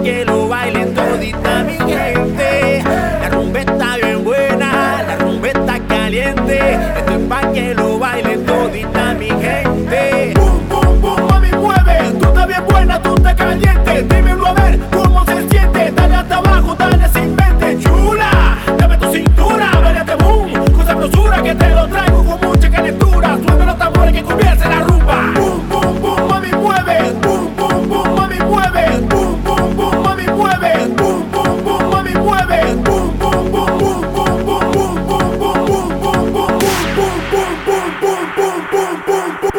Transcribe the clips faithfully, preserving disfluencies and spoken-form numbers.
que lo bailen todita mi gente. La rumba está bien buena, la rumba está caliente. Esto es pa' que lo bailen todita mi gente. Boom, boom, boom, mami mueve. Tú estás bien buena, tú estás caliente. Dímelo a ver cómo se siente. Dale hasta abajo, dale sin mente. Chula, dame tu cintura, bailate boom. Con sabrosura que te lo traigo con mucha calentura. Suena los tambores que comience la rumba. Boom, boom, boom, mami mueve. Boom, boom, boom, mami mueve. Boom, boom, boom, mami mueve. Boom, boom, boom, mami mueve. Boom, boom, boom, boom, boom, boom, boom, boom, boom, boom, boom, boom, boom, boom, boom, boom, boom, boom, boom, boom.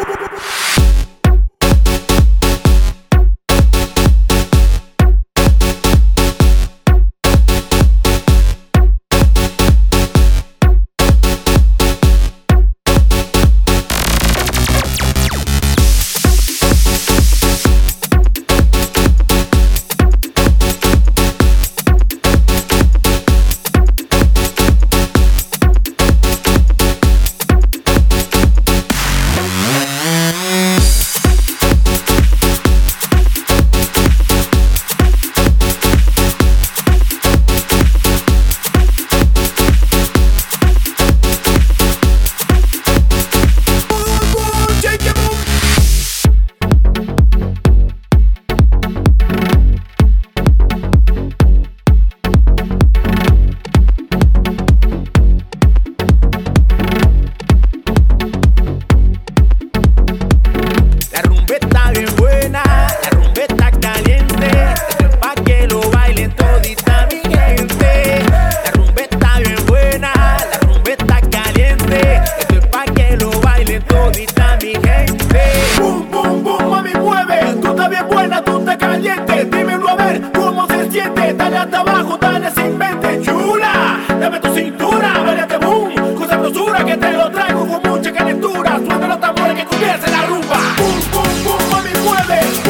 Dímelo a ver cómo se siente. Dale hasta abajo, dale sin mente. Chula, dame tu cintura, bailate boom. Con sabrosura que te lo traigo con mucha calentura. Suena los tambores que comience la rumba. Boom, boom, boom, mami mueve.